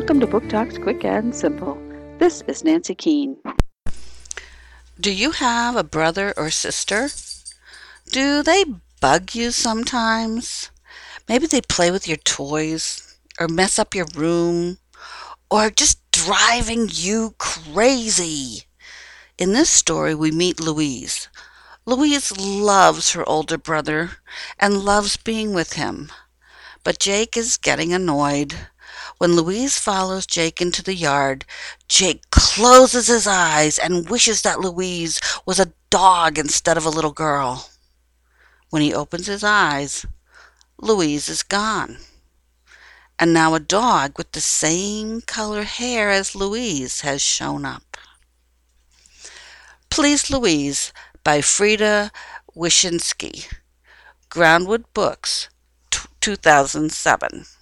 Welcome to Book Talks Quick and Simple. This is Nancy Keene. Do you have a brother or sister? Do they bug you sometimes? Maybe they play with your toys, or mess up your room, or just driving you crazy. In this story, we meet Louise. Louise loves her older brother and loves being with him. But Jake is getting annoyed. When Louise follows Jake into the yard, Jake closes his eyes and wishes that Louise was a dog instead of a little girl. When he opens his eyes, Louise is gone. And now a dog with the same color hair as Louise has shown up. Please Louise by Frida Wyszynski. Groundwood Books, 2007.